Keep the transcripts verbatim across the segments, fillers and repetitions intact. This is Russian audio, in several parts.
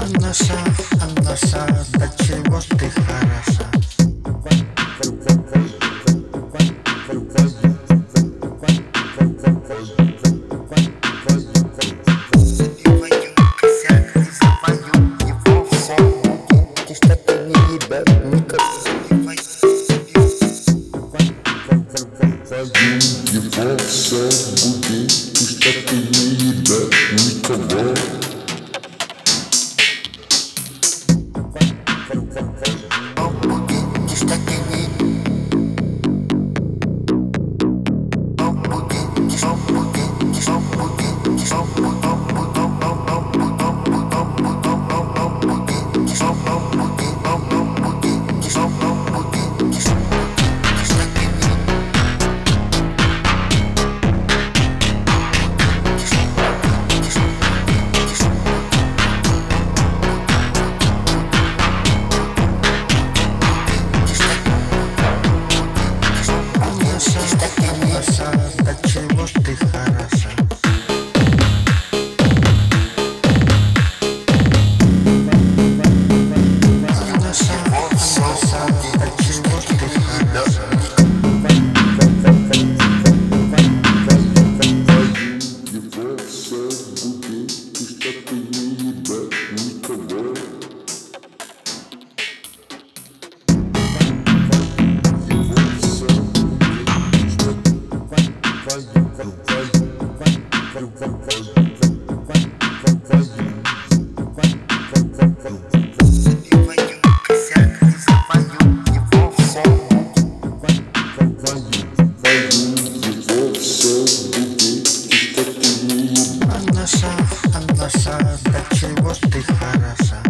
наша, а наша, до чего ж ты хороша. Забиваю косяк и забиваю его все. Ты что ты не ебет никак. Его все буди, ты что ты не ебет никого. До чего ж ты хороша. Забиваю косяк и забиваю его все. Его все буди, ты что ты не ебет. А наша, а наша, до чего ж ты хороша.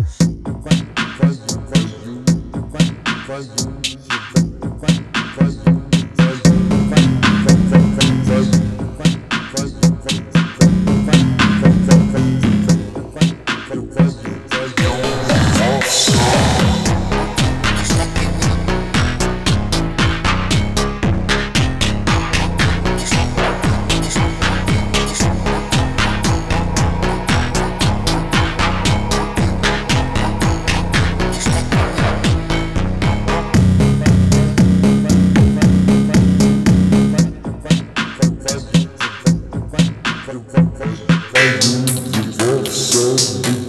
Его все